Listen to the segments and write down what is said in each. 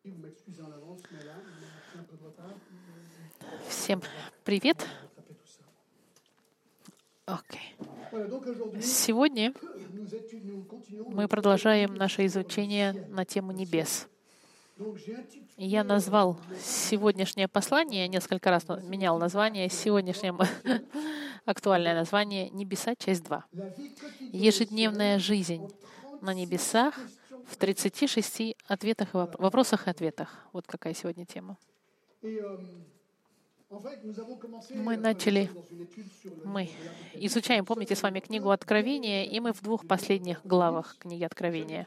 Всем привет. Сегодня мы продолжаем наше изучение на тему небес. Я назвал сегодняшнее послание, несколько раз менял название, сегодняшнее актуальное название «Небеса. Часть 2». Ежедневная жизнь на небесах в 36 вопросах и ответах. Вот какая сегодня тема. Мы изучаем, помните, с вами книгу Откровения, и мы в 2 последних главах книги Откровения,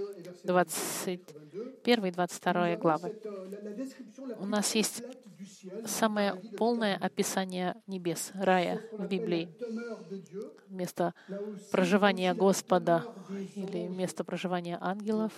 21 и 22 главы. У нас есть самое полное описание небес, рая в Библии. Место проживания Господа или место проживания ангелов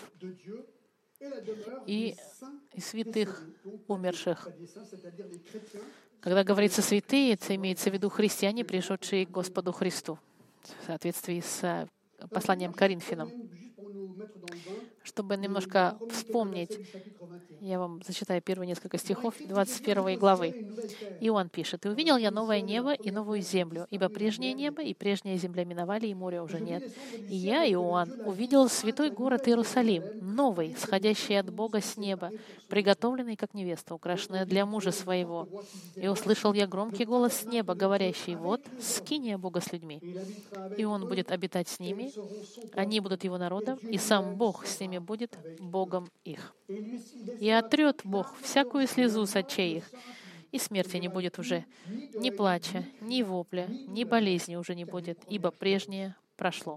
и святых, умерших. Когда говорится «святые», это имеется в виду христиане, пришедшие к Господу Христу, в соответствии с посланием к Коринфянам. Чтобы немножко вспомнить, я вам зачитаю первые несколько стихов 21 главы. Иоанн пишет: «И увидел я новое небо и новую землю, ибо прежнее небо и прежняя земля миновали, и моря уже нет. И я, Иоанн, увидел святой город Иерусалим, новый, сходящий от Бога с неба, приготовленный, как невеста, украшенная для мужа своего. И услышал я громкий голос с неба, говорящий: вот, скиния Бога с людьми, и Он будет обитать с ними, они будут Его народом, и сам Бог с ними будет Богом их. И отрет Бог всякую слезу с очей их, и смерти не будет уже, ни плача, ни вопля, ни болезни уже не будет, ибо прежнее прошло».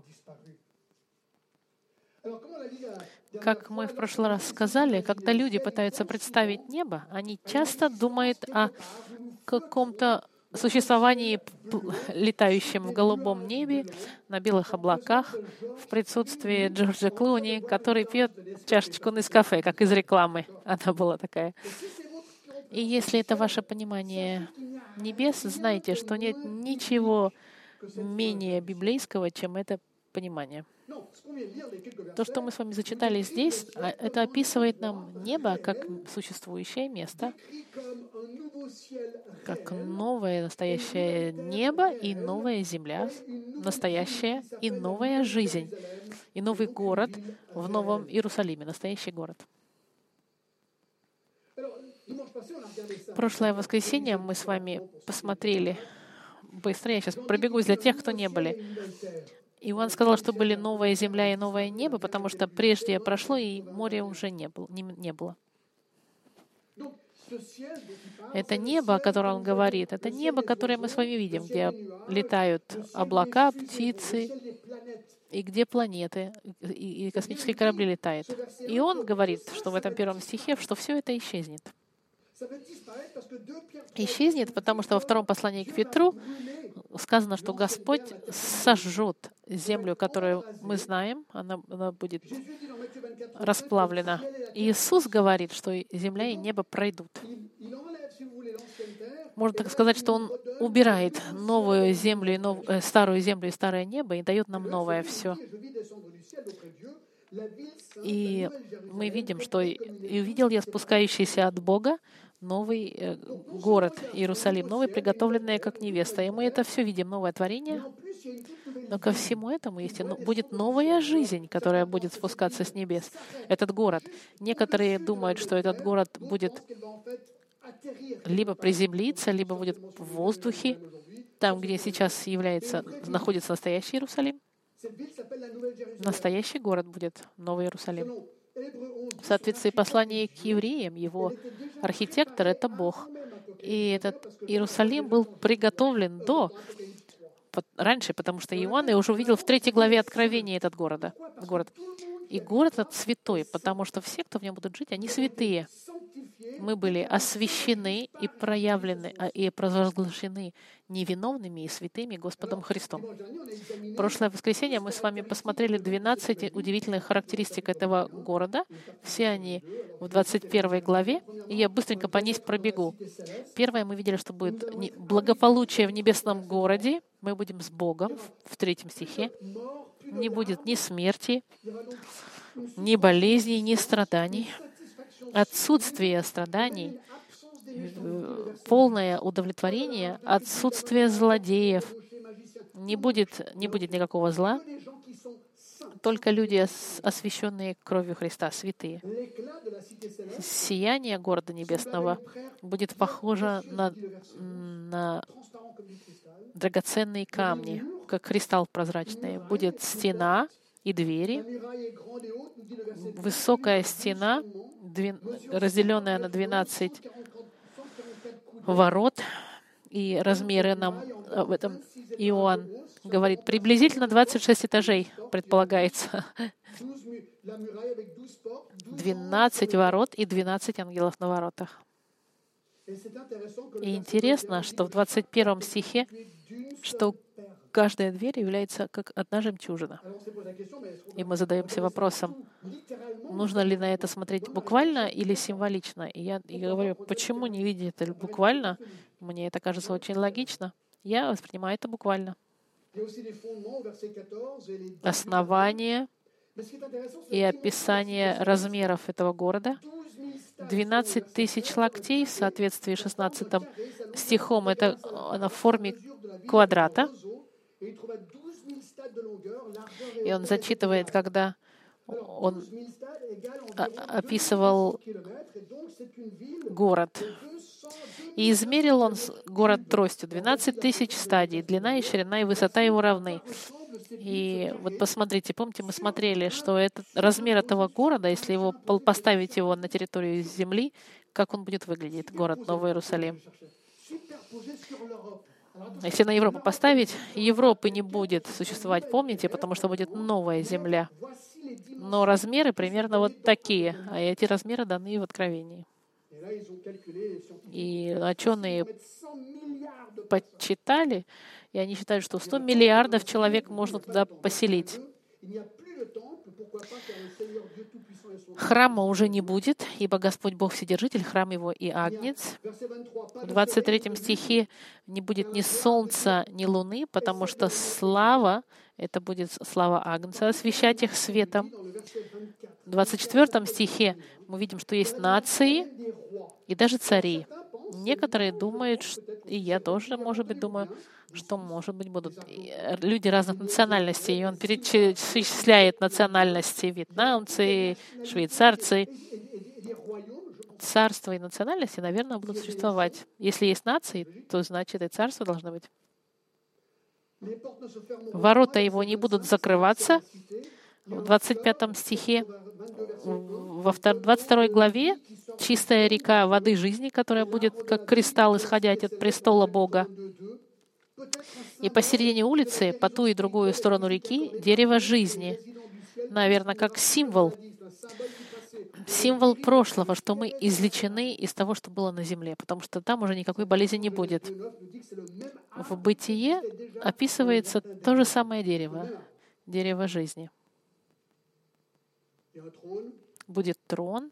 Как мы в прошлый раз сказали, когда люди пытаются представить небо, они часто думают о каком-то существовании, летающем в голубом небе, на белых облаках, в присутствии Джорджа Клуни, который пьет чашечку Нескафе, как из рекламы. Она была такая. И если это ваше понимание небес, знайте, что нет ничего менее библейского, чем это понимание. То, что мы с вами зачитали здесь, это описывает нам небо как существующее место, как новое настоящее небо и новая земля, настоящая и новая жизнь, и новый город в Новом Иерусалиме, настоящий город. Прошлое воскресенье мы с вами посмотрели быстро, я сейчас пробегусь для тех, кто не были. Иоанн сказал, что были новая земля и новое небо, потому что прежде прошло, и моря уже не было. Это небо, о котором он говорит, это небо, которое мы с вами видим, где летают облака, птицы, и где планеты, и космические корабли летают. И он говорит, что в этом 1 стихе, что все это исчезнет. Исчезнет, потому что во 2 послании к Петру сказано, что Господь сожжет землю, которую мы знаем, она будет расплавлена. И Иисус говорит, что земля и небо пройдут. Можно так сказать, что Он убирает новую землю, старую землю и старое небо и дает нам новое все. И мы видим, что «И увидел я спускающийся от Бога новый город Иерусалим, новый, приготовленный как невеста». И мы это все видим, новое творение. Но ко всему этому будет новая жизнь, которая будет спускаться с небес. Этот город. Некоторые думают, что этот город будет либо приземлиться, либо будет в воздухе, там, где сейчас находится настоящий Иерусалим. Настоящий город будет Новый Иерусалим. В соответствии послания к евреям, его архитектор — это Бог. И этот Иерусалим был приготовлен раньше, потому что Иоанн уже увидел в 3 главе Откровения этот город. И город этот святой, потому что все, кто в нем будут жить, они святые. Мы были освящены и проявлены, и провозглашены невиновными и святыми Господом Христом. В прошлое воскресенье мы с вами посмотрели 12 удивительных характеристик этого города. Все они в 21 главе. И я быстренько по ней пробегу. Первое, мы видели, что будет благополучие в небесном городе. Мы будем с Богом в 3 стихе. Не будет ни смерти, ни болезней, ни страданий. отсутствие страданий, полное удовлетворение, отсутствие злодеев. Не будет никакого зла, только люди, освященные кровью Христа, святые. Сияние города небесного будет похоже на драгоценные камни, как кристалл прозрачный. Будет стена и двери, высокая стена, разделенная на 12 ворот, и размеры нам об этом Иоанн говорит, приблизительно 26 этажей предполагается. 12 ворот и 12 ангелов на воротах. И интересно, что в 21 стихе, что каждая дверь является как одна жемчужина. И мы задаемся вопросом, нужно ли на это смотреть буквально или символично. И я говорю, почему не видеть это буквально? Мне это кажется очень логично. Я воспринимаю это буквально. Основание и описание размеров этого города. 12 тысяч локтей в соответствии с 16 стихом. Это в форме квадрата. И он зачитывает, когда он описывал город. И измерил он город тростью. 12 тысяч стадий. Длина и ширина и высота его равны. И вот посмотрите, помните, мы смотрели, что этот размер этого города, если его поставить его на территорию Земли, как он будет выглядеть, город Новый Иерусалим. Если на Европу поставить, Европы не будет существовать, помните, потому что будет новая Земля. Но размеры примерно вот такие, а эти размеры даны в Откровении. И ученые подсчитали, и они считают, что 100 миллиардов человек можно туда поселить. Храма уже не будет, ибо Господь Бог Вседержитель, храм Его и Агнец. В 23 стихе не будет ни солнца, ни луны, потому что слава, это будет слава Агнца, освещать их светом. В 24 стихе мы видим, что есть нации и даже цари. Некоторые думают, и я тоже, может быть, думаю, что, может быть, будут люди разных национальностей. И он перечисляет национальности: вьетнамцы, швейцарцы. Царства и национальности, наверное, будут существовать. Если есть нации, то значит и царство должно быть. Ворота его не будут закрываться. В 25 стихе, во 22 главе, чистая река воды жизни, которая будет как кристалл исходить от престола Бога. И посередине улицы, по ту и другую сторону реки, дерево жизни. Наверное, как символ прошлого, что мы излечены из того, что было на земле, потому что там уже никакой болезни не будет. В Бытие описывается то же самое дерево жизни. Будет трон,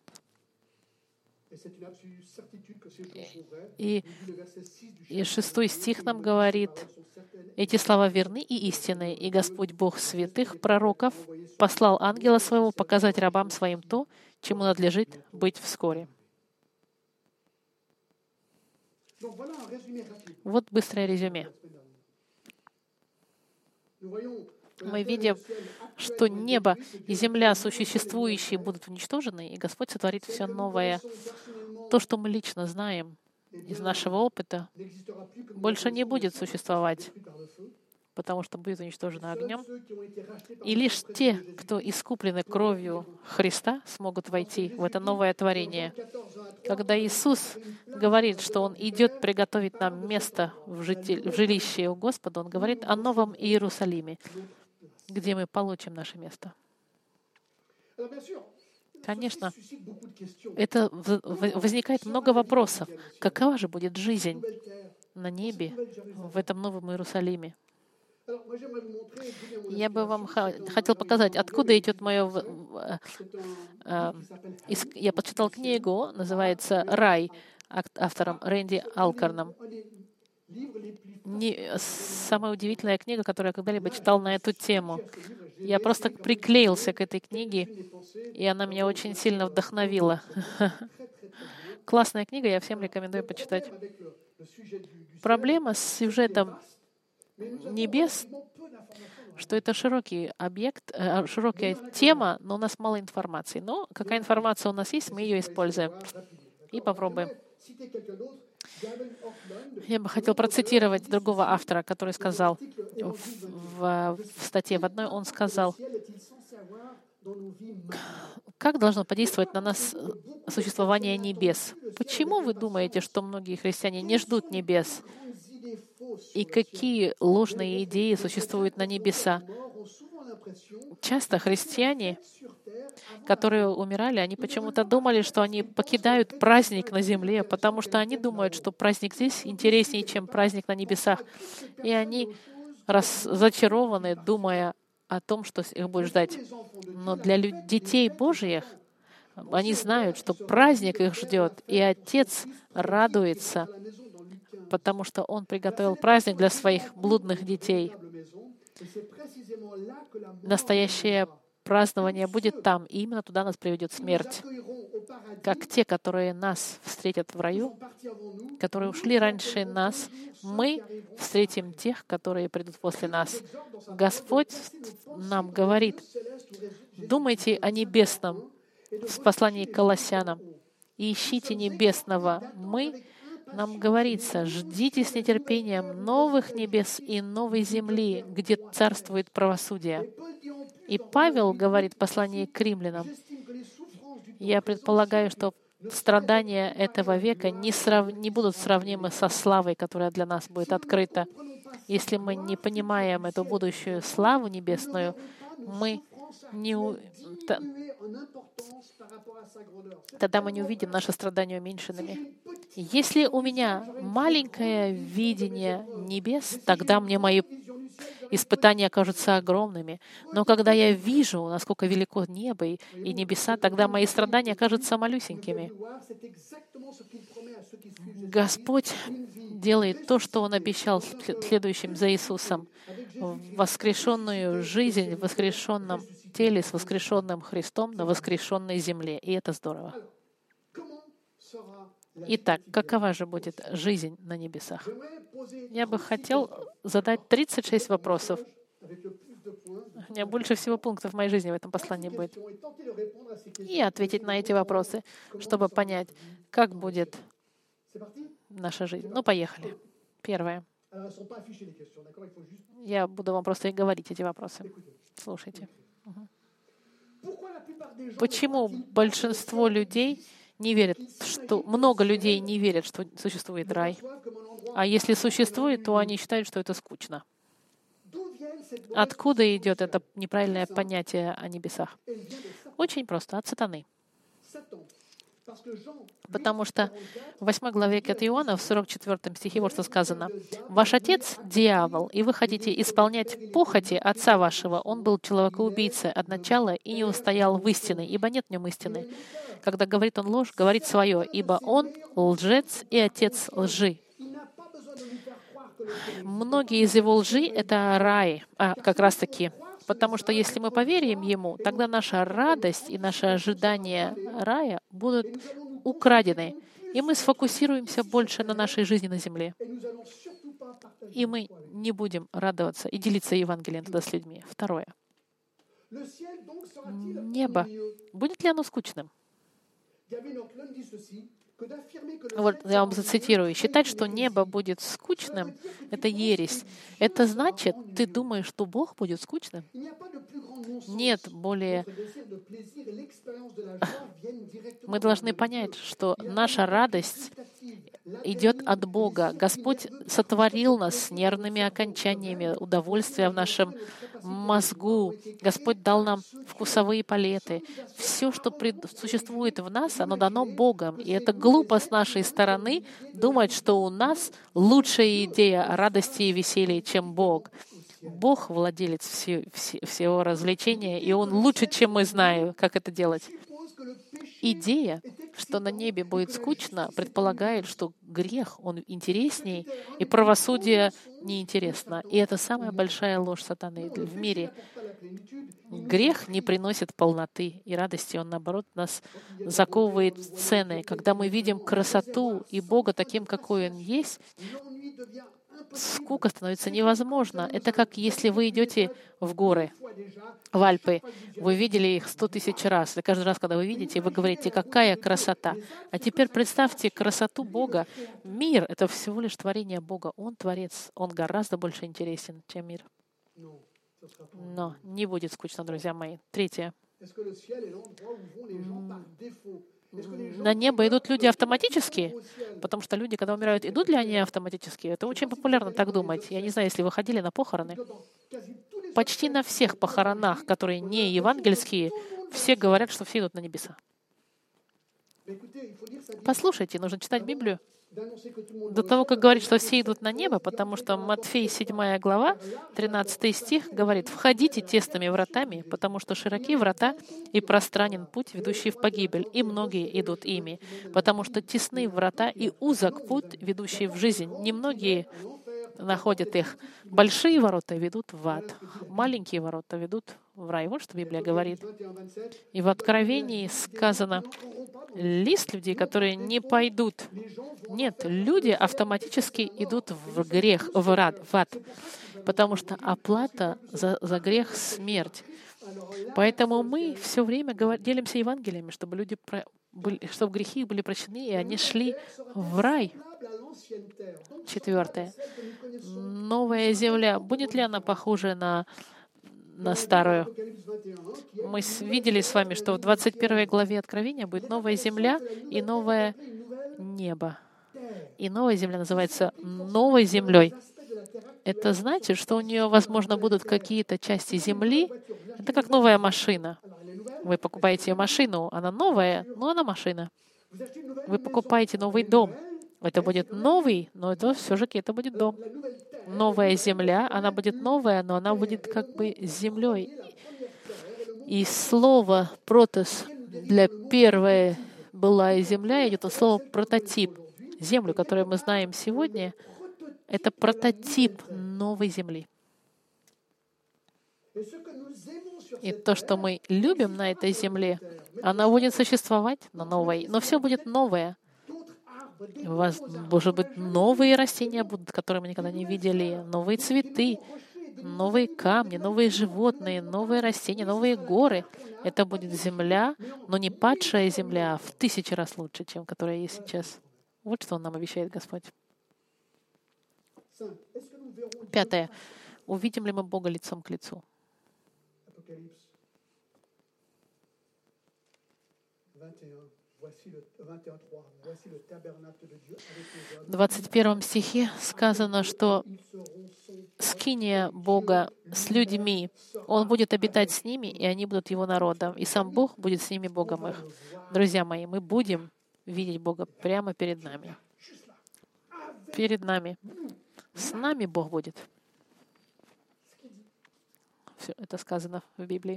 и 6 стих нам говорит, эти слова верны и истинны, и Господь Бог святых пророков послал ангела своего показать рабам своим то, чему надлежит быть вскоре. Вот быстрое резюме. Мы видим, что небо и земля существующие будут уничтожены, и Господь сотворит все новое. То, что мы лично знаем из нашего опыта, больше не будет существовать, потому что будет уничтожено огнем. И лишь те, кто искуплены кровью Христа, смогут войти в это новое творение. Когда Иисус говорит, что Он идет приготовить нам место в жилище у Господа, Он говорит о Новом Иерусалиме, где мы получим наше место. Конечно, это возникает много вопросов. Какова же будет жизнь на небе, в этом Новом Иерусалиме? Я бы вам хотел показать, откуда идет мое... Я почитал книгу, называется «Рай», автором Рэнди Алкорном. Самая удивительная книга, которую я когда-либо читал на эту тему. Я просто приклеился к этой книге, и она меня очень сильно вдохновила. Классная книга, я всем рекомендую почитать. Проблема с сюжетом небес, что это широкий объект, широкая тема, но у нас мало информации. Но какая информация у нас есть, мы ее используем. И попробуем. Я бы хотел процитировать другого автора, который сказал в статье в одной, он сказал, как должно подействовать на нас существование небес? Почему вы думаете, что многие христиане не ждут небес? И какие ложные идеи существуют на небеса? Часто христиане, которые умирали, они почему-то думали, что они покидают праздник на земле, потому что они думают, что праздник здесь интереснее, чем праздник на небесах. И они разочарованы, думая о том, что их будет ждать. Но для детей Божьих они знают, что праздник их ждет, и Отец радуется, потому что Он приготовил праздник для своих блудных детей. Настоящее празднование будет там, и именно туда нас приведет смерть. Как те, которые нас встретят в раю, которые ушли раньше нас, мы встретим тех, которые придут после нас. Господь нам говорит, думайте о небесном в послании к Колоссянам и ищите небесного. Нам говорится, ждите с нетерпением новых небес и новой земли, где царствует правосудие. И Павел говорит в послании к римлянам, я предполагаю, что страдания этого века не будут сравнимы со славой, которая для нас будет открыта. Если мы не понимаем эту будущую славу небесную, тогда мы не увидим наши страдания уменьшенными. Если у меня маленькое видение небес, тогда мне мои испытания кажутся огромными. Но когда я вижу, насколько велико небо и небеса, тогда мои страдания кажутся малюсенькими. Господь делает то, что Он обещал следующим за Иисусом. Воскрешенную жизнь в воскрешенном теле с воскрешенным Христом на воскрешенной земле. И это здорово. Итак, какова же будет жизнь на небесах? Я бы хотел задать 36 вопросов. У меня больше всего пунктов в моей жизни в этом послании будет. И ответить на эти вопросы, чтобы понять, как будет наша жизнь. Ну, поехали. Первое. Я буду вам просто говорить эти вопросы. Слушайте. Почему большинство людей не верят, много людей не верят, что существует рай? А если существует, то они считают, что это скучно. Откуда идет это неправильное понятие о небесах? Очень просто, от сатаны. Потому что в 8 главе от Иоанна, в 44 стихе, вот что сказано. «Ваш отец — дьявол, и вы хотите исполнять похоти отца вашего. Он был человекоубийцей от начала и не устоял в истине, ибо нет в нем истины. Когда говорит он ложь, говорит свое, ибо он лжец и отец лжи». Многие из его лжи — это рай, как раз-таки. Потому что если мы поверим ему, тогда наша радость и наше ожидание рая будут украдены. И мы сфокусируемся больше на нашей жизни на земле. И мы не будем радоваться и делиться Евангелием тогда с людьми. Второе. Небо. Будет ли оно скучным? Вот я вам зацитирую. Считать, что небо будет скучным, это ересь. Это значит, ты думаешь, что Бог будет скучным? Нет более... Мы должны понять, что наша радость идет от Бога. Господь сотворил нас с нервными окончаниями, удовольствия в нашем мозгу. Господь дал нам вкусовые палеты. Все, что существует в нас, оно дано Богом. И это глупо с нашей стороны думать, что у нас лучшая идея радости и веселья, чем Бог. Бог владелец всего развлечения, и Он лучше, чем мы знаем, как это делать. Идея, что на небе будет скучно, предполагает, что грех, он интересней, и правосудие неинтересно. И это самая большая ложь сатаны в мире. Грех не приносит полноты и радости, он, наоборот, нас заковывает в цены. Когда мы видим красоту и Бога таким, какой Он есть, скука становится невозможна. Это как если вы идете в горы, в Альпы. Вы видели их 100 000 раз. И каждый раз, когда вы видите, вы говорите, какая красота. А теперь представьте красоту Бога. Мир — это всего лишь творение Бога. Он Творец. Он гораздо больше интересен, чем мир. Но не будет скучно, друзья мои. Третье. На небо идут люди автоматически, потому что люди, когда умирают, идут ли они автоматически? Это очень популярно так думать. Я не знаю, если вы ходили на похороны. Почти на всех похоронах, которые не евангельские, все говорят, что все идут на небеса. Послушайте, нужно читать Библию до того, как говорить, что все идут на небо, потому что Матфей 7 глава, 13 стих говорит: «Входите тесными вратами, потому что широки врата и пространен путь, ведущий в погибель, и многие идут ими, потому что тесны врата и узок путь, ведущий в жизнь. Немногие находят их. Большие ворота ведут в ад, маленькие ворота ведут в рай». Вот что Библия говорит. И в Откровении сказано: лист людей, которые не пойдут. Нет, люди автоматически идут в грех, в ад, потому что оплата за грех — смерть. Поэтому мы все время делимся Евангелиями, чтобы люди чтобы грехи их были прощены, и они шли в рай. 4. Новая земля. Будет ли она похожа на старую? Мы видели с вами, что в 21 главе Откровения будет новая земля и новое небо. И новая земля называется новой землей. Это значит, что у нее, возможно, будут какие-то части земли. Это как новая машина. Вы покупаете машину, она новая, но она машина. Вы покупаете новый дом. Это будет новый, но это все-таки это будет дом. Новая земля, она будет новая, но она будет как бы землей. И слово «протос» для первой былая земля идет от слова «прототип». Землю, которую мы знаем сегодня, это прототип новой земли. И то, что мы любим на этой земле, она будет существовать на новой, но все будет новое. У вас, может быть, новые растения будут, которые мы никогда не видели, новые цветы, новые камни, новые животные, новые растения, новые горы. Это будет земля, но не падшая земля, а в 1000 раз лучше, чем которая есть сейчас. Вот что Он нам обещает, Господь. 5. Увидим ли мы Бога лицом к лицу? В 21 стихе сказано, что скиния Бога с людьми, Он будет обитать с ними, и они будут Его народом, и сам Бог будет с ними Богом их. Друзья мои, мы будем видеть Бога прямо перед нами. Перед нами. С нами Бог будет. Все это сказано в Библии.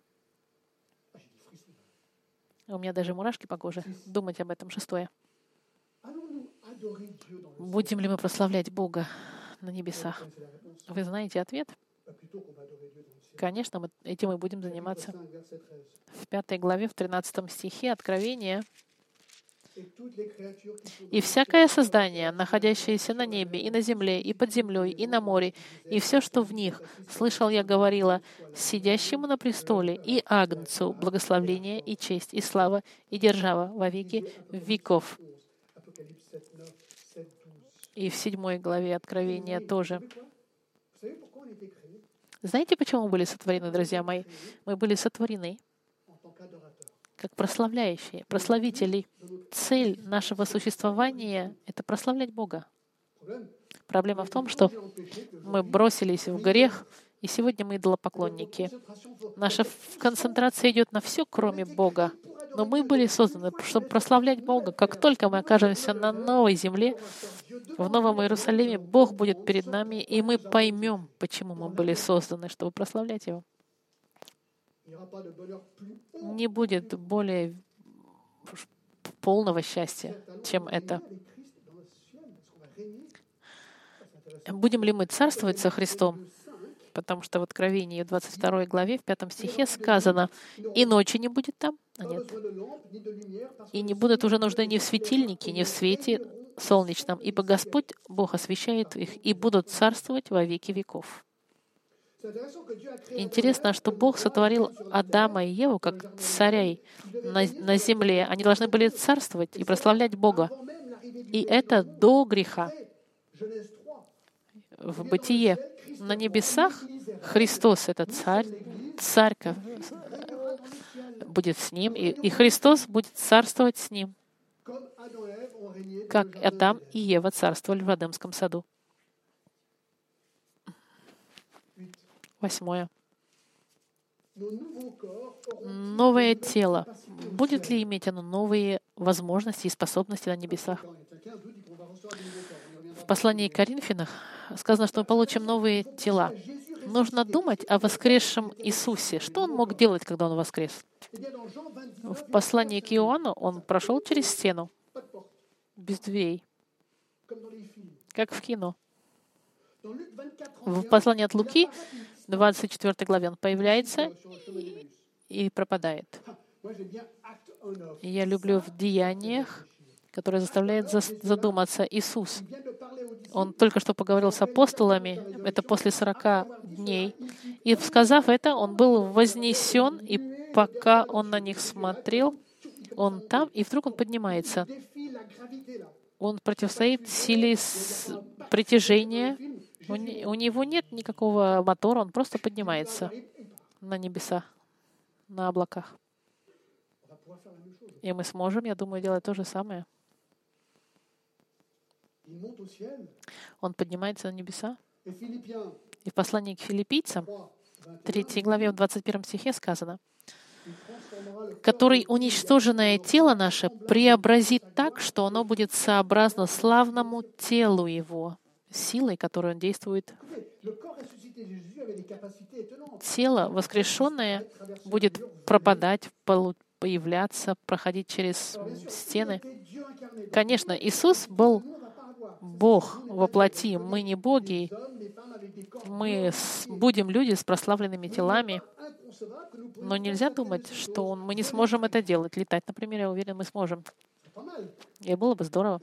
У меня даже мурашки по коже. Думать об этом. 6. Будем ли мы прославлять Бога на небесах? Вы знаете ответ? Конечно, этим мы будем заниматься. В 5 главе, в 13 стихе Откровения: «И всякое создание, находящееся на небе, и на земле, и под землей, и на море, и все, что в них, слышал я, говорила, сидящему на престоле и Агнцу благословение и честь, и слава, и держава во веки веков». И в 7 главе Откровения тоже. Знаете, почему мы были сотворены, друзья мои? Мы были сотворены как прославляющие, прославители. Цель нашего существования — это прославлять Бога. Проблема в том, что мы бросились в грех, и сегодня мы идолопоклонники. Наша концентрация идет на все, кроме Бога. Но мы были созданы, чтобы прославлять Бога. Как только мы окажемся на новой земле, в Новом Иерусалиме, Бог будет перед нами, и мы поймем, почему мы были созданы, чтобы прославлять Его. Не будет более полного счастья, чем это. Будем ли мы царствовать со Христом? Потому что в Откровении, в 22 главе, в 5 стихе сказано, «И ночи не будет там». Нет. «И не будет уже нужды ни в светильнике, ни в свете солнечном, ибо Господь, Бог, освещает их, и будут царствовать во веки веков». Интересно, что Бог сотворил Адама и Еву как царей на земле. Они должны были царствовать и прославлять Бога. И это до греха. В Бытие на небесах Христос — это царь, царь будет с ним, и Христос будет царствовать с ним, как Адам и Ева царствовали в Эдемском саду. 8. Новое тело. Будет ли иметь оно новые возможности и способности на небесах? В послании к Коринфянам сказано, что мы получим новые тела. Нужно думать о воскресшем Иисусе. Что Он мог делать, когда Он воскрес? В послании к Иоанну Он прошел через стену, без дверей, как в кино. В послании от Луки, 24 главе, Он появляется и пропадает. Я люблю в деяниях, которые заставляют задуматься. Иисус, Он только что поговорил с апостолами, это после 40 дней, и, сказав это, Он был вознесен, и пока Он на них смотрел, Он там, и вдруг Он поднимается. Он противостоит силе притяжения. У Него нет никакого мотора, Он просто поднимается на небеса, на облаках. И мы сможем, я думаю, делать то же самое. Он поднимается на небеса. И в послании к филиппийцам, 3 главе, в 21 стихе сказано, «Который уничтоженное тело наше преобразит так, что оно будет сообразно славному телу Его, силой, которой Он действует». Тело воскрешенное будет пропадать, появляться, проходить через стены. Конечно, Иисус был Бог во плоти. Мы не боги. Мы будем люди с прославленными телами. Но нельзя думать, что мы не сможем это делать. Летать, например, я уверен, мы сможем. И было бы здорово.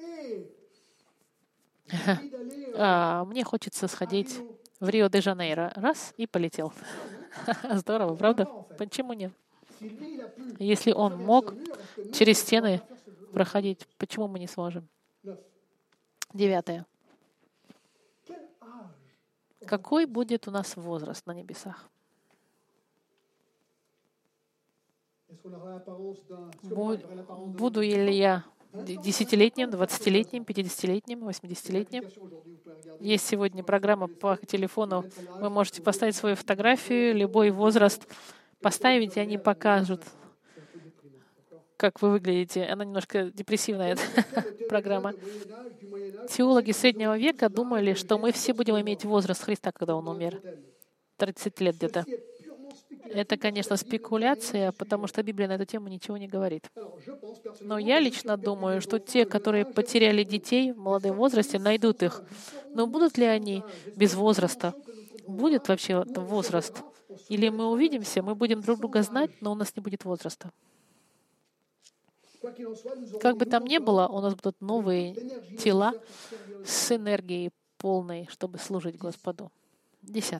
Мне хочется сходить в Рио-де-Жанейро. Раз — и полетел. Здорово, правда? Почему нет? Если Он мог через стены проходить, почему мы не сможем? 9. Какой будет у нас возраст на небесах? Буду ли я 10-летним, 20-летним, 50-летним, 80-летним? Есть сегодня программа по телефону. Вы можете поставить свою фотографию, любой возраст поставить, и они покажут, как вы выглядите. Она немножко депрессивная, эта программа. Теологи Среднего века думали, что мы все будем иметь возраст Христа, когда Он умер. 30 лет где-то. Это, конечно, спекуляция, потому что Библия на эту тему ничего не говорит. Но я лично думаю, что те, которые потеряли детей в молодом возрасте, найдут их. Но будут ли они без возраста? Будет вообще возраст? Или мы увидимся, мы будем друг друга знать, но у нас не будет возраста? Как бы там ни было, у нас будут новые тела с энергией полной, чтобы служить Господу. 10.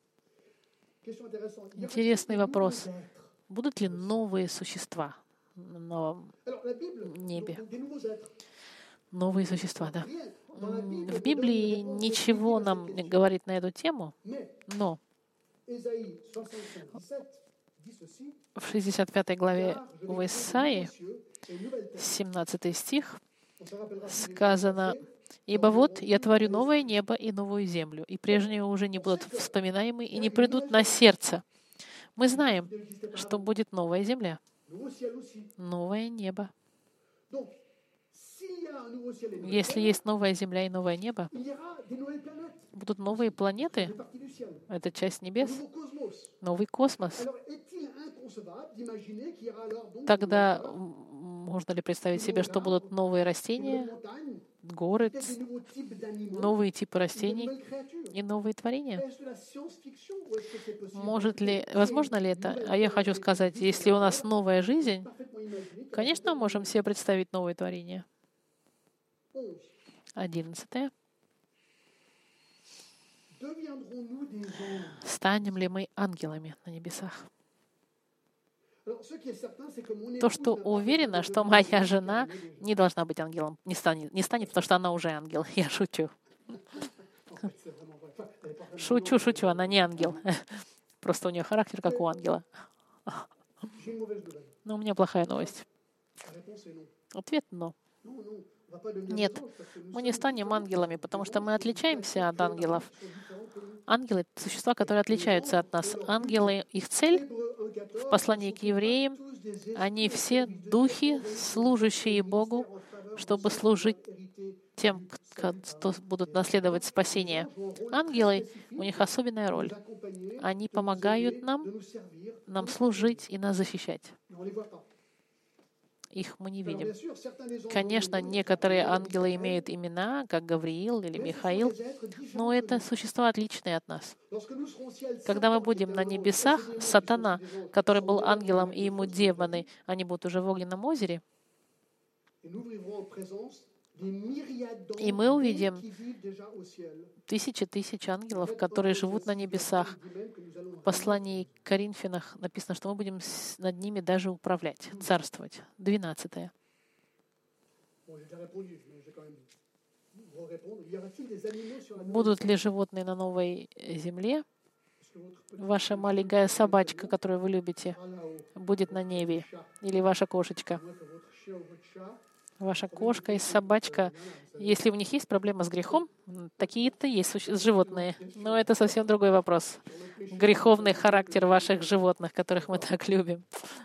Интересный вопрос. Будут ли новые существа на небе? Новые существа, да. В Библии ничего нам не говорит на эту тему, но в 65 главе в Исаии, 17 стих, сказано: «Ибо вот я творю новое небо и новую землю, и прежние уже не будут вспоминаемы и не придут на сердце». Мы знаем, что будет новая земля, новое небо. Если есть новая земля и новое небо, будут новые планеты, это часть небес, новый космос. Тогда можно ли представить себе, что будут новые растения, горы, новые типы растений и новые творения. Возможно ли это? А я хочу сказать, если у нас новая жизнь, конечно, мы можем себе представить новые творения. 11. Станем ли мы ангелами на небесах? То, что уверена, что моя жена не должна быть ангелом, не станет, потому что она уже ангел. Я шучу. Шучу, она не ангел. Просто у нее характер, как у ангела. Но у меня плохая новость. Ответ — «но». Нет, мы не станем ангелами, потому что мы отличаемся от ангелов. Ангелы — существа, которые отличаются от нас. Ангелы, их цель в послании к евреям, они все духи, служащие Богу, чтобы служить тем, кто будут наследовать спасение. Ангелы, у них особенная роль. Они помогают нам служить и нас защищать. Их мы не видим. Конечно, некоторые ангелы имеют имена, как Гавриил или Михаил, но это существа отличные от нас. Когда мы будем на небесах, Сатана, который был ангелом, и ему демоны, они будут уже в огненном озере, и мы увидим тысячи ангелов, которые живут на небесах. В послании к Коринфянам написано, что мы будем над ними даже управлять, царствовать. 12. Будут ли животные на новой земле? Ваша маленькая собачка, которую вы любите, будет на небе. Или ваша кошечка. Ваша кошка и собачка, если у них есть проблема с грехом, такие-то есть животные. Но это совсем другой вопрос. Греховный характер ваших животных, которых мы так любим.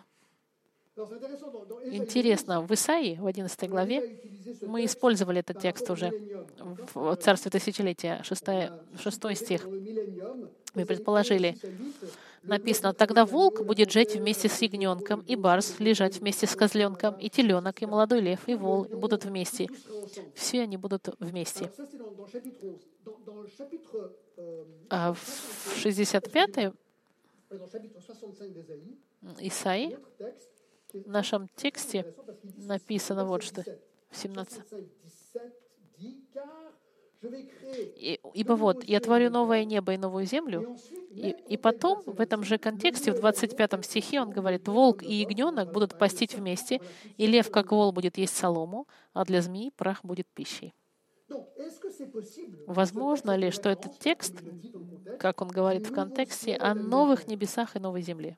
Интересно, в Исаии, в 11 главе, мы использовали этот текст уже в Царстве Тысячелетия, 6 стих. Мы предположили, написано: «Тогда волк будет жить вместе с ягненком, и барс лежать вместе с козленком, и теленок, и молодой лев, и вол будут вместе». Все они будут вместе. А в 65 Исаии, в нашем тексте написано вот что. 17. «Ибо вот, я творю новое небо и новую землю». И потом, в этом же контексте, в 25 стихе он говорит: «Волк и ягненок будут пастить вместе, и лев, как вол, будет есть солому, а для змеи прах будет пищей». Возможно ли, что этот текст, как он говорит в контексте, о новых небесах и новой земле?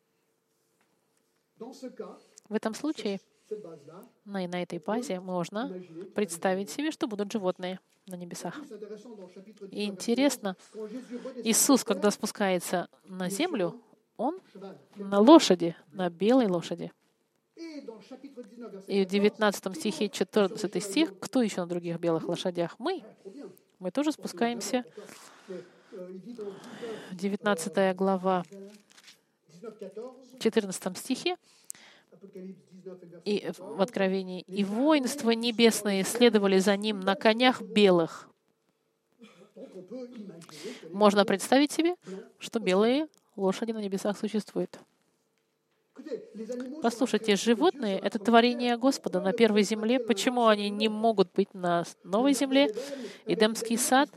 В этом случае, на этой базе можно представить себе, что будут животные на небесах. И интересно, Иисус, когда спускается на землю, Он на лошади, на белой лошади. И в 19 стихе, 14 стих, кто еще на других белых лошадях? Мы. Мы тоже спускаемся. 19 глава, 14 стихе, и в Откровении: «И воинства небесные следовали за ним на конях белых». Можно представить себе, что белые лошади на небесах существуют. Послушайте, животные — это творение Господа на первой земле. Почему они не могут быть на новой земле? Эдемский сад,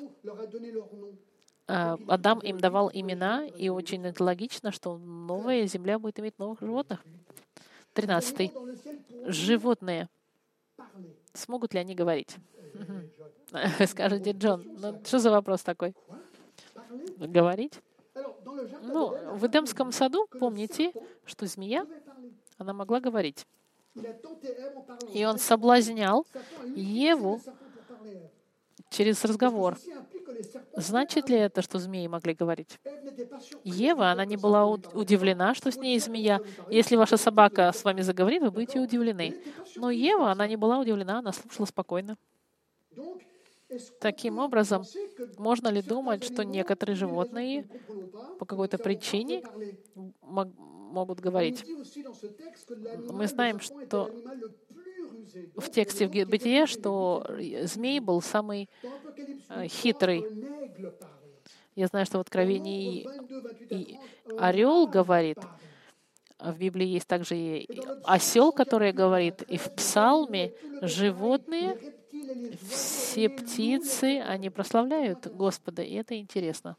Адам им давал имена, и очень логично, что новая земля будет иметь новых животных. 13. Животные. Смогут ли они говорить? Скажете, Джон, ну что за вопрос такой? Говорить? Ну, в Эдемском саду, помните, что змея, она могла говорить. И он соблазнял Еву через разговор. Значит ли это, что змеи могли говорить? Ева, она не была удивлена, что с ней змея. Если ваша собака с вами заговорит, вы будете удивлены. Но Ева, она не была удивлена, она слушала спокойно. Таким образом, можно ли думать, что некоторые животные по какой-то причине могут говорить? Мы знаем, что в тексте в Бытия, что змей был самый хитрый. Я знаю, что в Откровении и орел говорит, а в Библии есть также и осел, который говорит, и в Псалме животные, все птицы, они прославляют Господа, и это интересно.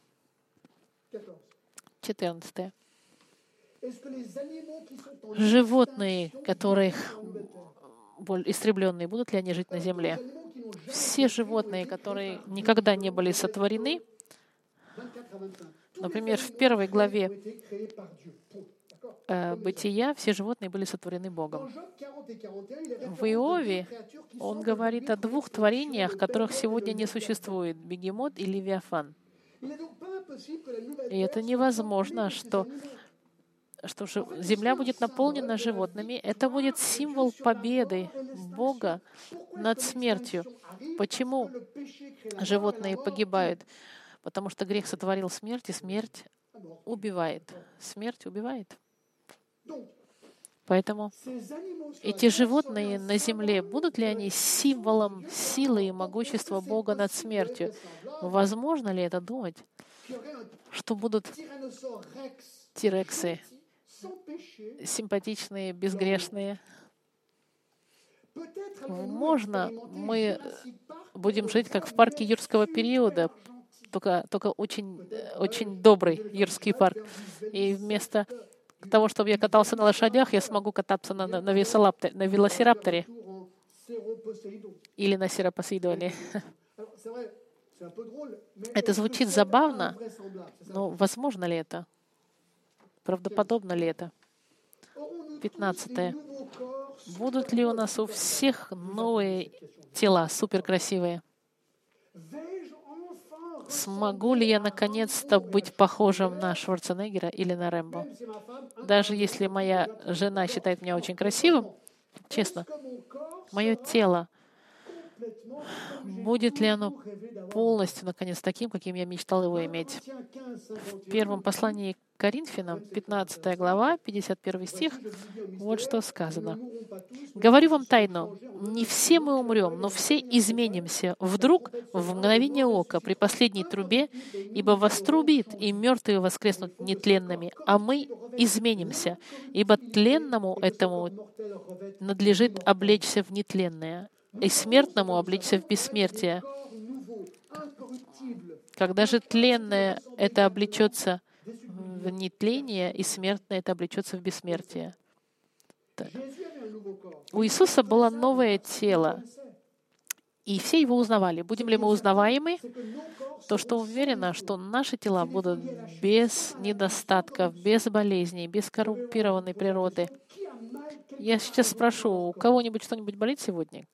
14. Животные, которые истребленные, будут ли они жить на земле? Все животные, которые никогда не были сотворены, например, в 1 главе Бытия все животные были сотворены Богом. В Иове он говорит о двух творениях, которых сегодня не существует — бегемот и левиафан. И это невозможно, что земля будет наполнена животными. Это будет символ победы Бога над смертью. Почему животные погибают? Потому что грех сотворил смерть, и смерть убивает. Смерть убивает. Поэтому эти животные на земле, будут ли они символом силы и могущества Бога над смертью? Возможно ли это думать, что будут тирексы, симпатичные, безгрешные? Можно мы будем жить как в парке юрского периода, только очень добрый юрский парк. И вместо того, чтобы я катался на лошадях, я смогу кататься на велосирапторе или на серопосейдоне. Это звучит забавно, но возможно ли это? Правдоподобно ли это? 15. Будут ли у нас у всех новые тела, суперкрасивые? Смогу ли я наконец-то быть похожим на Шварценеггера или на Рэмбо? Даже если моя жена считает меня очень красивым, честно, мое тело, будет ли оно полностью, наконец, таким, каким я мечтал его иметь? В первом послании к Коринфянам, 15 глава, 51 стих, вот что сказано. «Говорю вам тайну, не все мы умрем, но все изменимся. Вдруг, в мгновение ока, при последней трубе, ибо вострубит, и мертвые воскреснут нетленными, а мы изменимся, ибо тленному этому надлежит облечься в нетленное, и смертному облечься в бессмертие. Когда же тленное это облечется в нетление, и смертное это облечется в бессмертие». У Иисуса было новое тело, и все его узнавали. Будем ли мы узнаваемы? То, что уверено, что наши тела будут без недостатков, без болезней, без коррумпированной природы. Я сейчас спрошу, у кого-нибудь что-нибудь болит сегодня?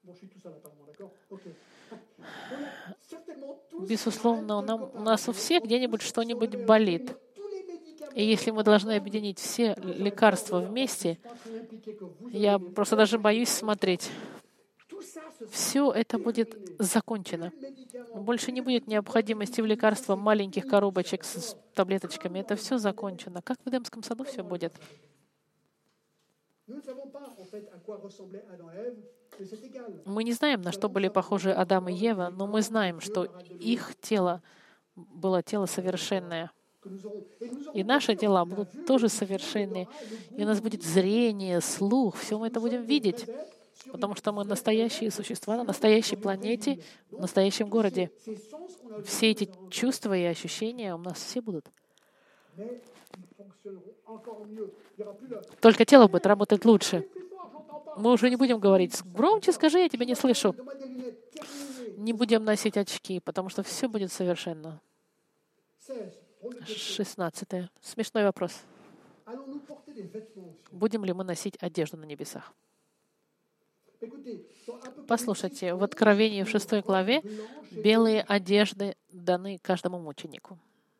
Безусловно, у нас у всех где-нибудь что-нибудь болит. И если мы должны объединить все лекарства вместе, я просто даже боюсь смотреть. Все это будет закончено. Больше не будет необходимости в лекарствах маленьких коробочек с таблеточками. Это все закончено. Как в Эдемском саду все будет. Мы не знаем, на что были похожи Адам и Ева, но мы знаем, что их тело было тело совершенное. И наши тела будут тоже совершенные. И у нас будет зрение, слух, все мы это будем видеть. Потому что мы настоящие существа на настоящей планете, в настоящем городе. Все эти чувства и ощущения у нас все будут. Только тело будет работать лучше. Мы уже не будем говорить: громче скажи, я тебя не слышу. Не будем носить очки, потому что все будет совершенно. 16. Смешной вопрос. Будем ли мы носить одежду на небесах? Послушайте, в Откровении в 6 главе белые одежды даны каждому мученику.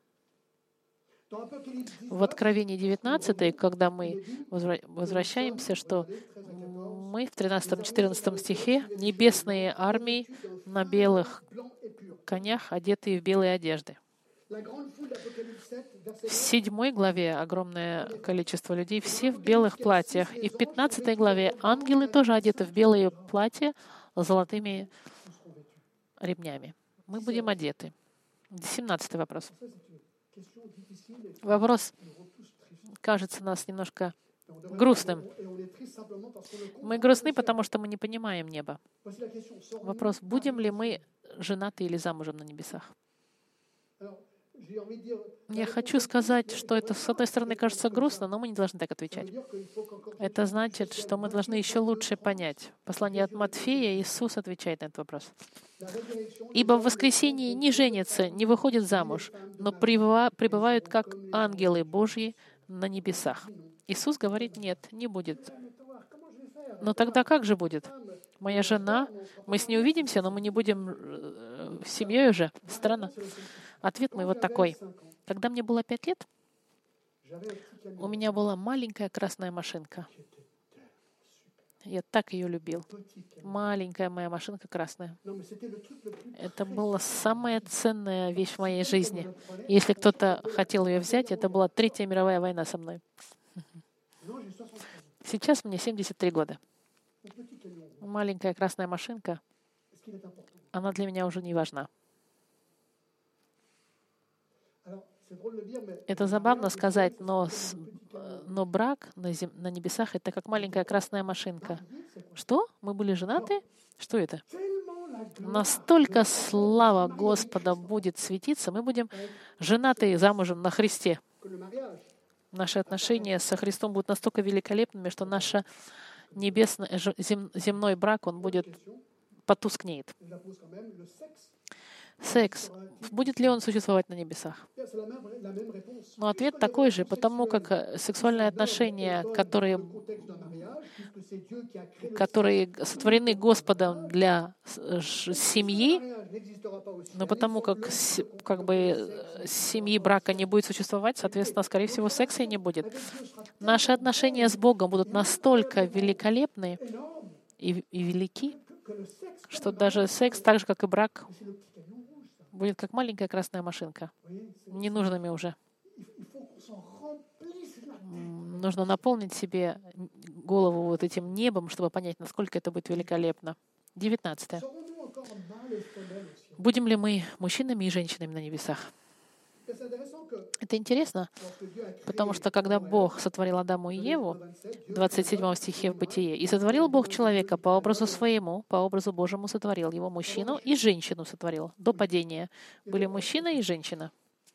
В Откровении 19, когда мы возвращаемся, что мы в 13-14 стихе небесные армии на белых конях, одетые в белые одежды. В 7 главе огромное количество людей, все в белых платьях. И в 15 главе ангелы тоже одеты в белые платья с золотыми ремнями. Мы будем одеты. 17 вопрос. Вопрос кажется нас немножко грустным. Мы грустны, потому что мы не понимаем неба. Вопрос, будем ли мы женаты или замужем на небесах? Я хочу сказать, что это, с одной стороны, кажется грустно, но мы не должны так отвечать. Это значит, что мы должны еще лучше понять. Послание от Матфея, Иисус отвечает на этот вопрос. «Ибо в воскресенье не женятся, не выходят замуж, но пребывают как ангелы Божьи на небесах». Иисус говорит, нет, не будет. Но тогда как же будет? Моя жена, мы с ней увидимся, но мы не будем семьей уже. Странно. Ответ мой вот такой. Когда мне было 5 лет, у меня была маленькая красная машинка. Я так ее любил. Маленькая моя машинка красная. Это была самая ценная вещь в моей жизни. Если кто-то хотел ее взять, это была Третья мировая война со мной. Сейчас мне 73 года. Маленькая красная машинка, она для меня уже не важна. Это забавно сказать, но брак на небесах — это как маленькая красная машинка. Что? Мы были женаты? Что это? Настолько слава Господа будет светиться, мы будем женаты и замужем на Христе. Наши отношения со Христом будут настолько великолепными, что наш земной брак, он будет потускнеет. Секс. Будет ли он существовать на небесах? Но ответ такой же, потому как сексуальные отношения, которые сотворены Господом для семьи, но потому как семьи брака не будет существовать, соответственно, скорее всего, секса и не будет. Наши отношения с Богом будут настолько великолепны и велики, что даже секс, так же, как и брак, будет как маленькая красная машинка. Ненужными уже. Нужно наполнить себе голову вот этим небом, чтобы понять, насколько это будет великолепно. 19. Будем ли мы мужчинами и женщинами на небесах? Это интересно, потому что когда Бог сотворил Адаму и Еву, в 27 стихе в Бытие, «И сотворил Бог человека по образу своему, по образу Божьему сотворил его, мужчину и женщину сотворил». До падения были мужчина и женщина.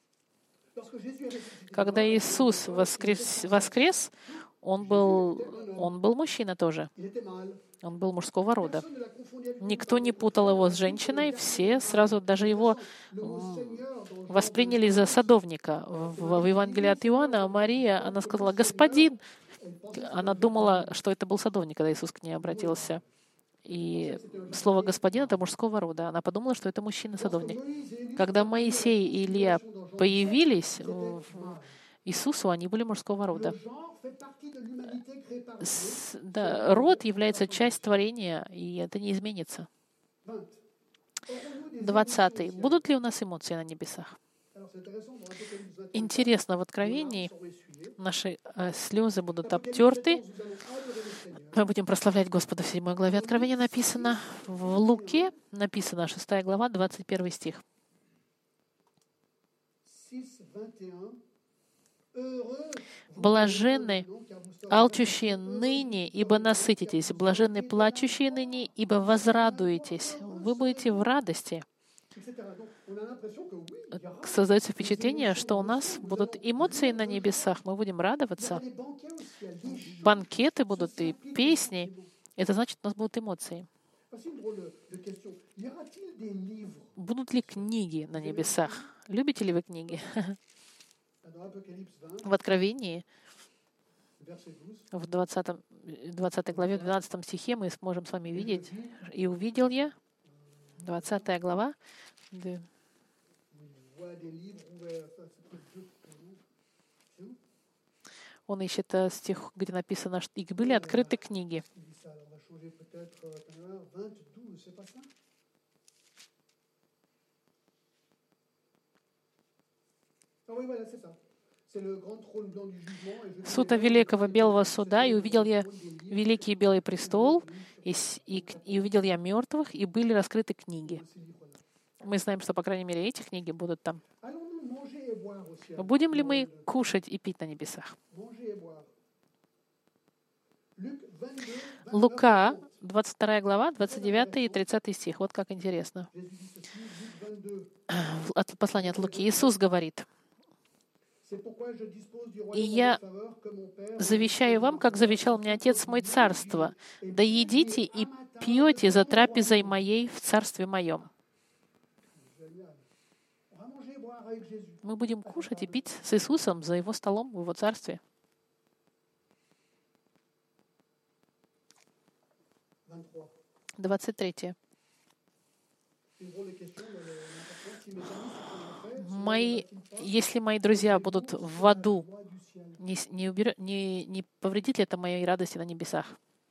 Когда Иисус воскрес, Он был мужчина тоже. Он был мужского рода. Никто не путал его с женщиной, все сразу даже его восприняли за садовника. В Евангелии от Иоанна Мария, она сказала «Господин». Она думала, что это был садовник, когда Иисус к ней обратился. И слово «господин» — это мужского рода. Она подумала, что это мужчина-садовник. Когда Моисей и Илия появились Иисусу, они были мужского рода. Род является часть творения, и это не изменится. 20. Будут ли у нас эмоции на небесах? Интересно, в Откровении наши слезы будут обтерты. Мы будем прославлять Господа в 7 главе Откровения написано. В Луке написано 6 глава, 21 стих. «Блаженны алчущие ныне, ибо насытитесь. Блаженны плачущие ныне, ибо возрадуетесь». Вы будете в радости. Создается впечатление, что у нас будут эмоции на небесах, мы будем радоваться. Банкеты будут и песни. Это значит, у нас будут эмоции. Будут ли книги на небесах? Любите ли вы книги? В Откровении, в 20 главе, в 12 стихе мы сможем с вами видеть. «И увидел я», 20 глава, он ищет стих, где написано, что и были открыты книги. Сута Великого Белого Суда, и увидел я Великий Белый престол, и увидел я мертвых, и были раскрыты книги. Мы знаем, что, по крайней мере, эти книги будут там. Будем ли мы кушать и пить на небесах? Лука, 22 глава, 29 и 30 стих. Вот как интересно. Послание от Луки. Иисус говорит: «И я завещаю вам, как завещал мне Отец мой, царство. Да едите и пьете за трапезой моей в царстве моем». Мы будем кушать и пить с Иисусом за Его столом в Его царстве. 23. Если мои друзья будут в аду, не повредит ли это моей радости на небесах?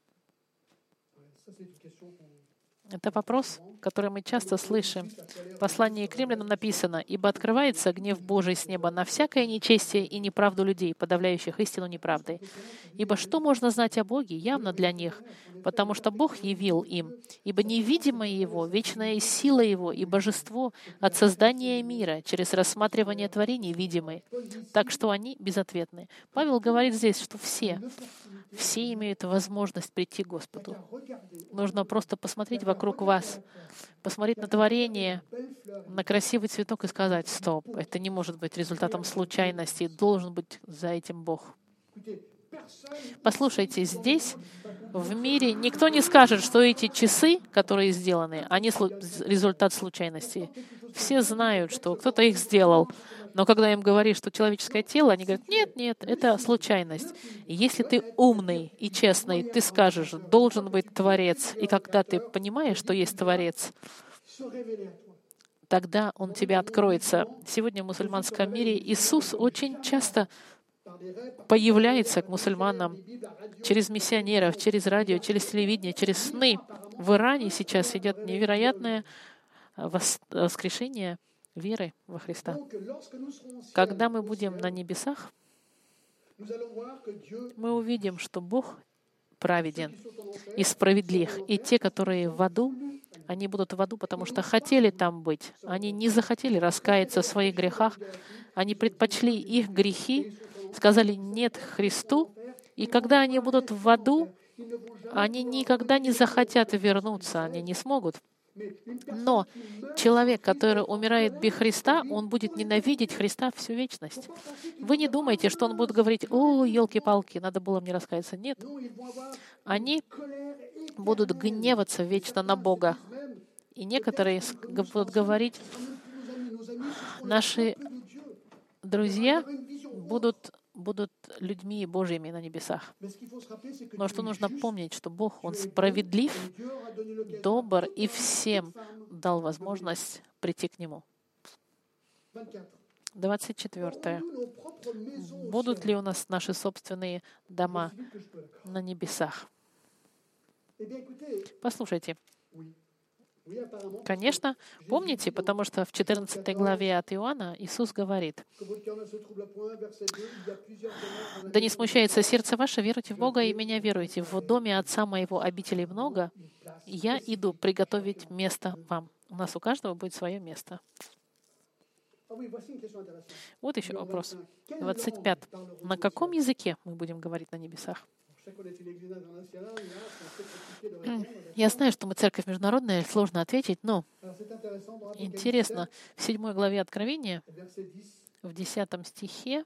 Это вопрос, который мы часто слышим. В послании к Римлянам написано: «Ибо открывается гнев Божий с неба на всякое нечестие и неправду людей, подавляющих истину неправдой. Ибо что можно знать о Боге явно для них, потому что Бог явил им. Ибо невидимое Его, вечная сила Его и божество от создания мира через рассматривание творений видимы, так что они безответны». Павел говорит здесь, что все имеют возможность прийти к Господу. Нужно просто посмотреть вокруг вас, посмотреть на творение, на красивый цветок и сказать: «Стоп, это не может быть результатом случайности, должен быть за этим Бог». Послушайте, здесь, в мире, никто не скажет, что эти часы, которые сделаны, они результат случайности. Все знают, что кто-то их сделал. Но когда им говоришь, что человеческое тело, они говорят: нет, это случайность. И если ты умный и честный, ты скажешь: должен быть Творец. И когда ты понимаешь, что есть Творец, тогда Он тебе откроется. Сегодня в мусульманском мире Иисус очень часто появляется к мусульманам через миссионеров, через радио, через телевидение, через сны. В Иране сейчас идет невероятное воскрешение веры во Христа. Когда мы будем на небесах, мы увидим, что Бог праведен и справедлив. И те, которые в аду, они будут в аду, потому что хотели там быть. Они не захотели раскаяться в своих грехах. Они предпочли их грехи, сказали «нет» Христу. И когда они будут в аду, они никогда не захотят вернуться, они не смогут. Но человек, который умирает без Христа, он будет ненавидеть Христа всю вечность. Вы не думаете, что он будет говорить: «О, елки-палки, надо было мне раскаяться». Нет. Они будут гневаться вечно на Бога. И некоторые будут говорить: наши друзья будут людьми Божьими на небесах. Но что нужно помнить, что Бог, Он справедлив, добр и всем дал возможность прийти к Нему. 24. Будут ли у нас наши собственные дома на небесах? Послушайте. Конечно, помните, потому что в 14 главе от Иоанна Иисус говорит: «Да не смущается сердце ваше, веруйте в Бога и меня веруйте. В доме Отца моего обителей много, и я иду приготовить место вам». У нас у каждого будет свое место. Вот еще вопрос. 25. На каком языке мы будем говорить на небесах? Я знаю, что мы церковь международная, сложно ответить, но интересно, в 7 главе Откровения, в 10 стихе,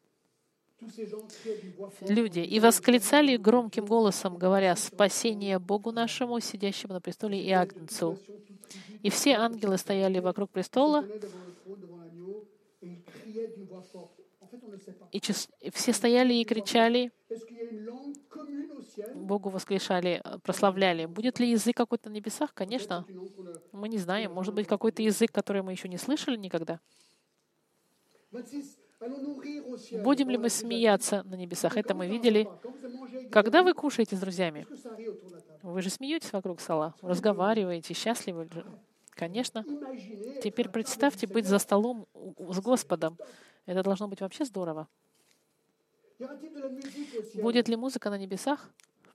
люди «и восклицали громким голосом, говоря: спасение Богу нашему, сидящему на престоле и Агнцу. И все ангелы стояли вокруг престола, и все стояли и кричали, Богу воскрешали, прославляли». Будет ли язык какой-то на небесах? Конечно. Мы не знаем. Может быть, какой-то язык, который мы еще не слышали никогда. Будем ли мы смеяться на небесах? Это мы видели. Когда вы кушаете с друзьями, вы же смеетесь вокруг стола, разговариваете, счастливы же. Конечно. Теперь представьте быть за столом с Господом. Это должно быть вообще здорово. Будет ли музыка на небесах?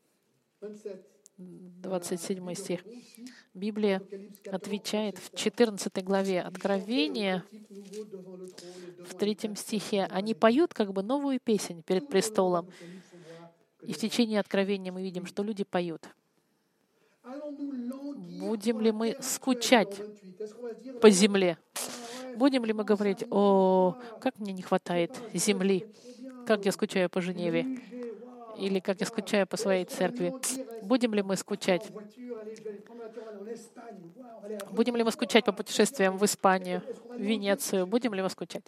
27 стих. Библия отвечает в 14 главе Откровения, в 3 стихе. Они поют как бы новую песнь перед престолом. И в течение Откровения мы видим, что люди поют. Будем ли мы скучать по земле? Будем ли мы говорить: «О, как мне не хватает земли, как я скучаю по Женеве», или «как я скучаю по своей церкви»? Будем ли мы скучать? Будем ли мы скучать по путешествиям в Испанию, в Венецию? Будем ли мы скучать?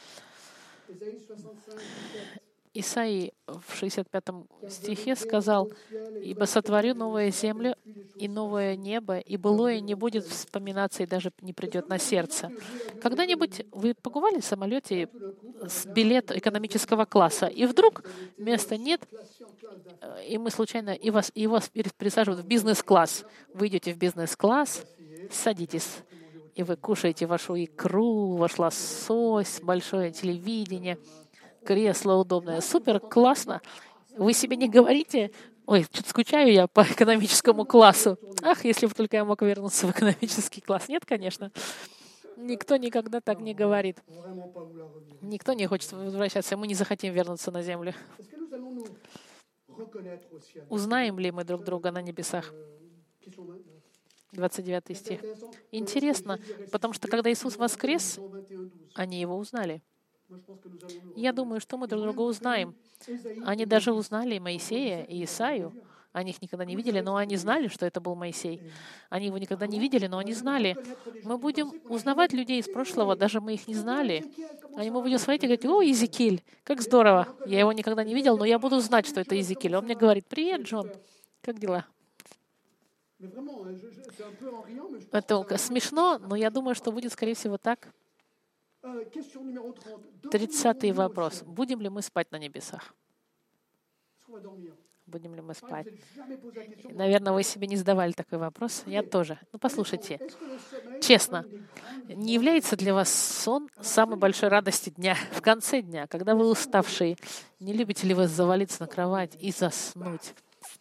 Исаии в 65 стихе сказал: «Ибо сотворю новую землю и новое небо, и былое не будет вспоминаться и даже не придет на сердце». Когда-нибудь вы побывали в самолете с билет экономического класса, и вдруг места нет, и мы случайно, и вас пересаживают в бизнес-класс. Вы идете в бизнес-класс, садитесь, и вы кушаете вашу икру, ваш лосось, большое телевидение, кресло удобное. Супер, классно. Вы себе не говорите: «Ой, что-то скучаю я по экономическому классу. Ах, если бы только я мог вернуться в экономический класс». Нет, конечно. Никто никогда так не говорит. Никто не хочет возвращаться. Мы не захотим вернуться на землю. Узнаем ли мы друг друга на небесах? 29 стих. Интересно, потому что когда Иисус воскрес, они Его узнали. Я думаю, что мы друг друга узнаем. Они даже узнали Моисея и Исаию. Они их никогда не видели, но они знали, что это был Моисей. Они его никогда не видели, но они знали. Мы будем узнавать людей из прошлого, даже мы их не знали. Мы будем смотреть и говорить: «О, Иезекииль, как здорово! Я его никогда не видел, но я буду знать, что это Иезекииль». Он мне говорит: «Привет, Джон, как дела?» Это смешно, но я думаю, что будет, скорее всего, так. 30-й вопрос. Будем ли мы спать на небесах? Будем ли мы спать? Наверное, вы себе не задавали такой вопрос. Я тоже. Послушайте, честно, не является для вас сон самой большой радостью дня, в конце дня, когда вы уставшие? Не любите ли вы завалиться на кровать и заснуть?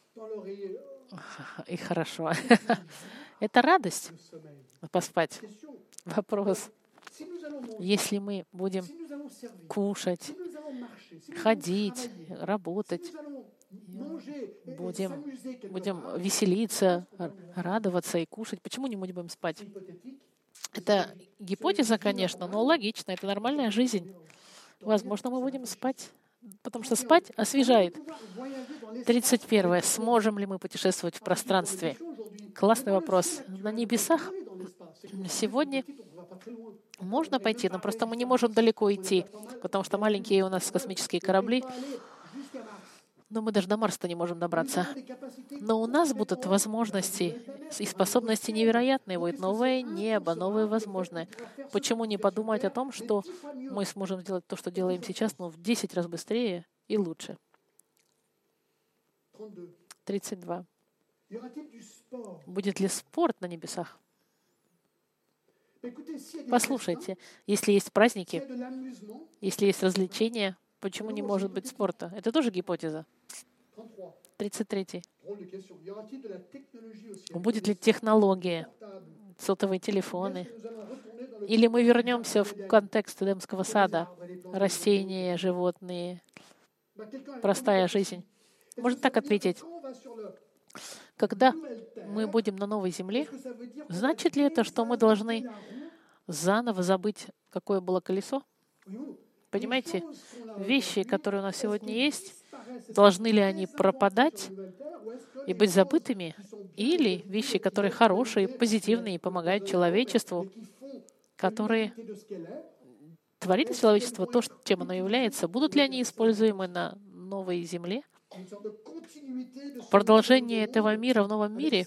И хорошо. Это радость поспать. Вопрос. Если мы будем кушать, ходить, работать, будем веселиться, радоваться и кушать, почему не будем спать? Это гипотеза, конечно, но логично. Это нормальная жизнь. Возможно, мы будем спать, потому что спать освежает. 31. Сможем ли мы путешествовать в пространстве? Классный вопрос. На небесах сегодня можно пойти, но просто мы не можем далеко идти, потому что маленькие у нас космические корабли, но мы даже до Марса не можем добраться. Но у нас будут возможности и способности невероятные. Будет новое небо, новые возможности. Почему не подумать о том, что мы сможем сделать то, что делаем сейчас, но в 10 раз быстрее и лучше? 32. Будет ли спорт на небесах? Послушайте, если есть праздники, если есть развлечения, почему не может быть спорта? Это тоже гипотеза. 33. Будет ли технология, сотовые телефоны? Или мы вернемся в контекст Эдемского сада? Растения, животные, простая жизнь. Можно так ответить. Когда мы будем на новой земле, значит ли это, что мы должны заново забыть, какое было колесо? Понимаете, вещи, которые у нас сегодня есть, должны ли они пропадать и быть забытыми? Или вещи, которые хорошие, позитивные, помогают человечеству, которые творит человечество то, чем оно является, будут ли они используемы на новой земле? Продолжение этого мира в новом мире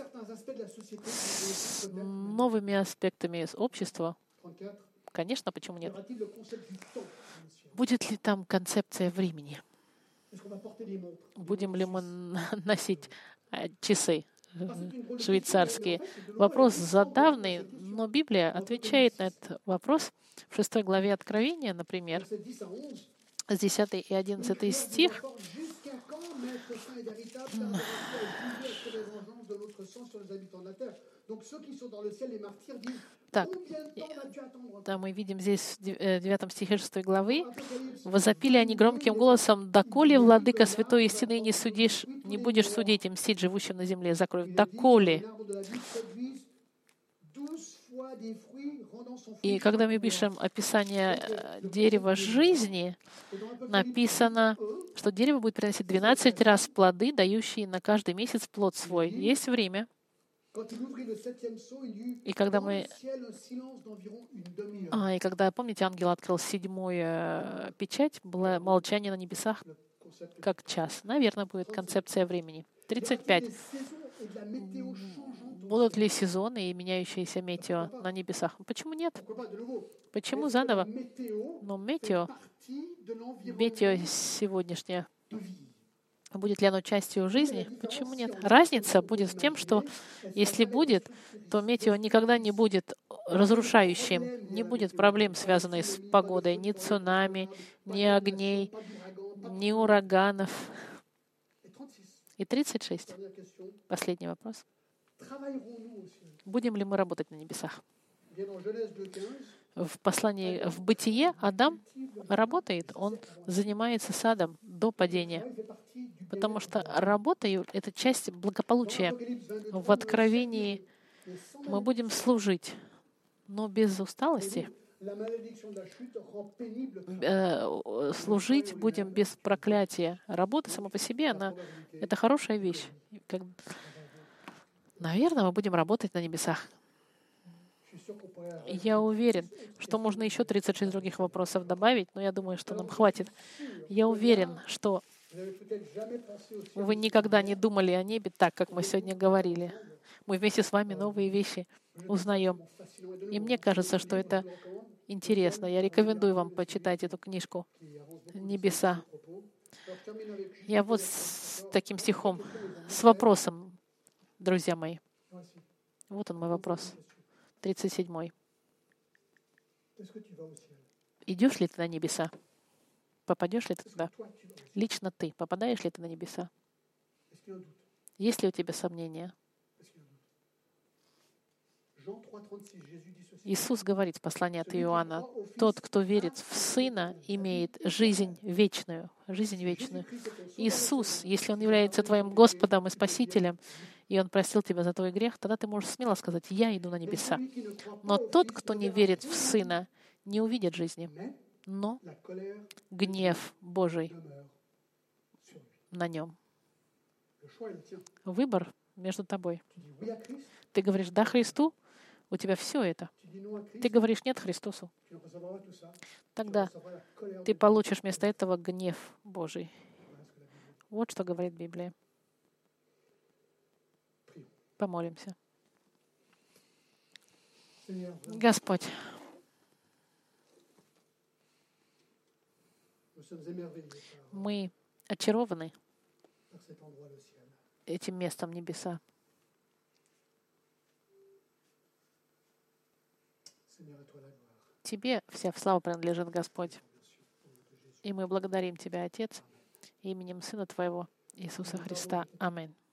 с новыми аспектами общества? Конечно, почему нет? Будет ли там концепция времени? Будем ли мы носить часы швейцарские? Вопрос задавный, Но Библия отвечает на этот вопрос в 6 главе Откровения, например, с 10 и 11 стих. Так, да, мы видим здесь в 9 стихе 6 главы. «Возопили они громким голосом: доколе, владыка святой истины, не судишь, не будешь судить и мстить живущим на земле за кровь? Доколе?» И когда мы пишем описание дерева жизни, написано, что дерево будет приносить 12 раз плоды, дающие на каждый месяц плод свой. Есть время. И когда помните, ангел открыл 7-ю печать, было молчание на небесах, как час. Наверное, будет концепция времени. 35. Будут ли сезоны и меняющиеся метео на небесах? Почему нет? Почему заново? Но метео сегодняшнее, будет ли оно частью жизни? Почему нет? Разница будет в том, что если будет, то метео никогда не будет разрушающим, не будет проблем, связанных с погодой, ни цунами, ни огней, ни ураганов. И 36. Последний вопрос. Будем ли мы работать на небесах? В послании, в Бытие Адам работает, он занимается садом до падения, потому что работа — это часть благополучия. В Откровении мы будем служить, но без усталости. Служить будем без проклятия. Работа сама по себе, это хорошая вещь. Наверное, мы будем работать на небесах. Я уверен, что можно еще 36 других вопросов добавить, но я думаю, что нам хватит. Я уверен, что вы никогда не думали о небе так, как мы сегодня говорили. Мы вместе с вами новые вещи узнаем. И мне кажется, что это интересно. Я рекомендую вам почитать эту книжку «Небеса». Я вот с таким стихом, с вопросом, друзья мои. Вот он мой вопрос. 37. Идешь ли ты на небеса? Попадешь ли ты туда? Лично ты попадаешь ли ты на небеса? Есть ли у тебя сомнения? Иисус говорит в послании от Иоанна: «Тот, кто верит в Сына, имеет жизнь вечную». Жизнь вечную. Иисус, если Он является твоим Господом и Спасителем, и Он простил тебя за твой грех, тогда ты можешь смело сказать: «Я иду на небеса». Но тот, кто не верит в Сына, не увидит жизни, но гнев Божий на нем. Выбор между тобой. Ты говоришь «да» Христу, у тебя все это. Ты говоришь «нет» Христосу. Тогда ты получишь вместо этого гнев Божий. Вот что говорит Библия. Помолимся. Господь, мы очарованы этим местом небеса. Тебе вся слава принадлежит, Господь. И мы благодарим Тебя, Отец, именем Сына Твоего, Иисуса Христа. Аминь.